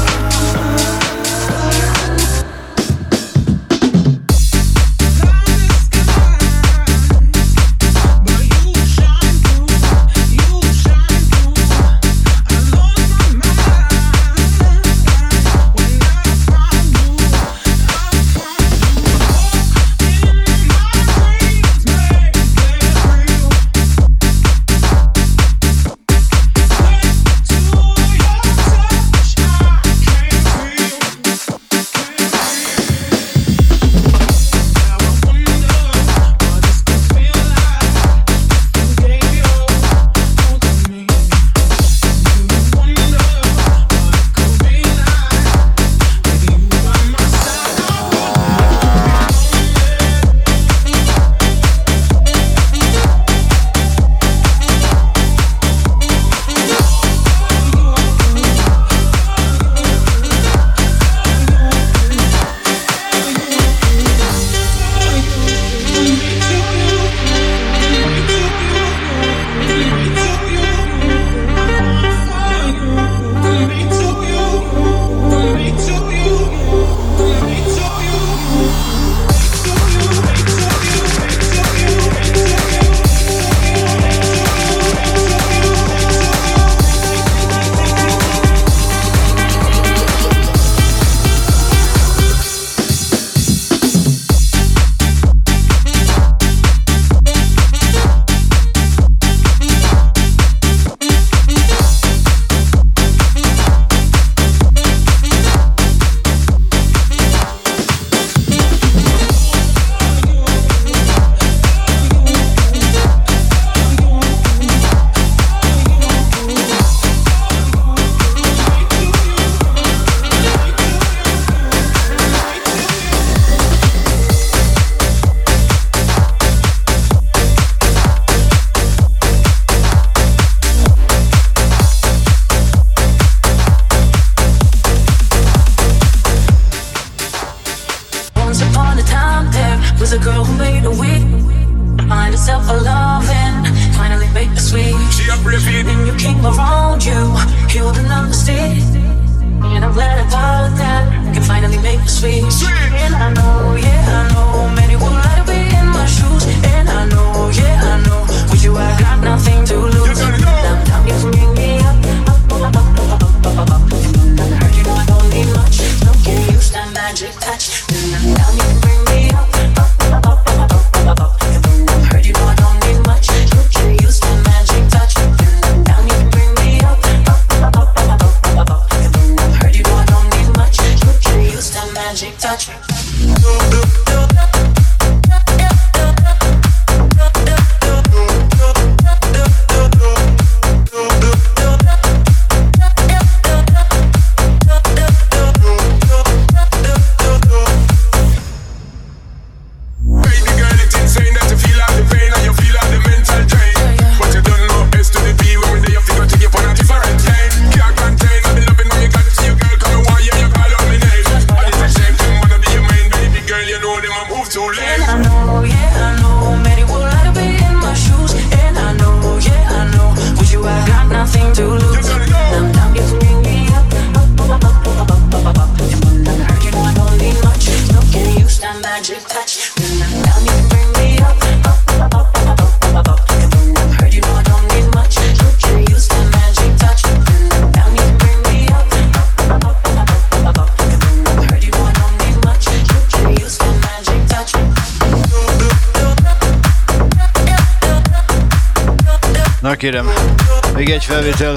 S2: Na kérem, még egy felvétel.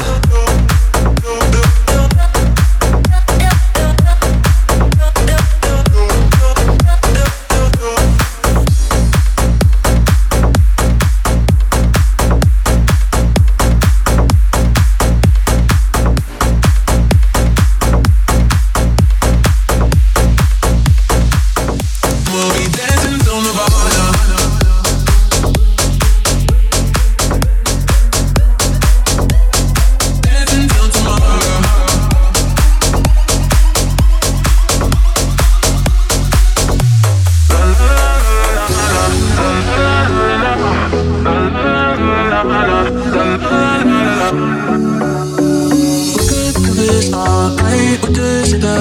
S16: Good, good,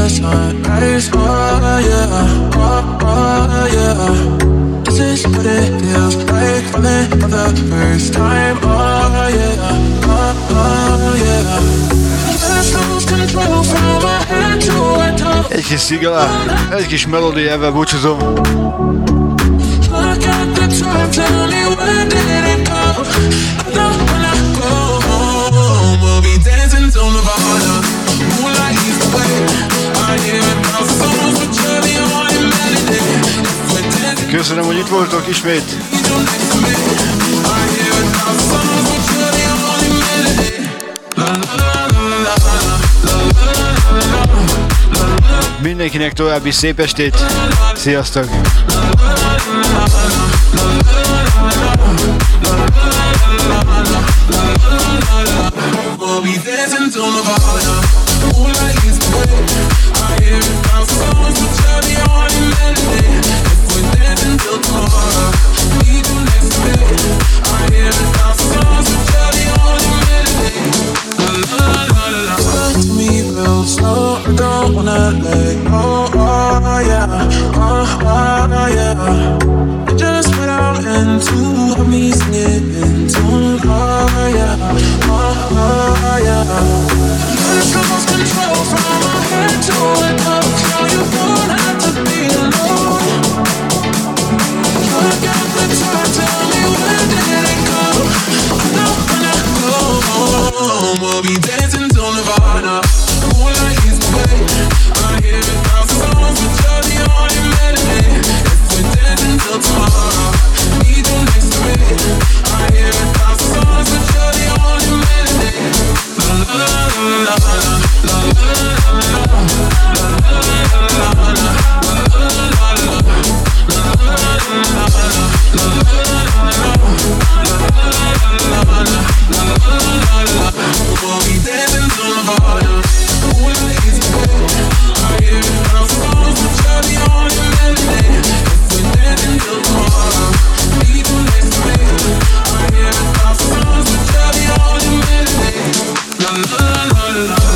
S7: the sunrise. Oh yeah, oh, oh yeah. This is what it feels like falling for the first time. Oh yeah, oh, oh yeah. Let's lose control from my head to my toe.
S2: Egy kis szigala, egy kis melódia, ebben búcsúzom.
S7: Look at the time, tell me where did it go? I know when I go home, we'll be dancing till Nirvana. Moonlight is the way. I hear it bounce songs, but you're the only melody. If we're dancing,
S2: Köszönöm, hogy itt voltok ismét.
S7: you're next to me. I hear it bounce songs, but you're the only melody. La la la la la la la la.
S2: Mindenkinek további szép estét. Sziasztok!
S7: We'll be dancing till Nirvana. Moonlight is the way. I hear it bounce songs, but you're the only melody. If we're dancing till tomorrow, need you next to me. I hear it bounce songs, but you're the only melody. La la la la la. Touch me real slow, I don't wanna let go. Oh yeah, oh, oh yeah. Just put out into me singing in tune. Oh yeah, oh, oh yeah. Let's lose control from my head to my toes. Now you don't have to be alone. Look at the time, tell me where did it go? I know when I go home, we'll be dancing till Nirvana. Moonlight is the way. I hear it bounce songs, but you're the only melody. If we're dancing till tomorrow, need you next to me. I hear it bounce songs, but you're the only melody. La la la la la la la we'll be dancing till Nirvana. Moonlight is the way. I hear it bounce songs, but you're the only melody. If we're dancing till tomorrow, need you next to me. I hear it bounce songs, but you're the only melody. La la la la la.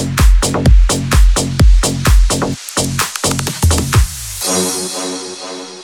S17: Thank you.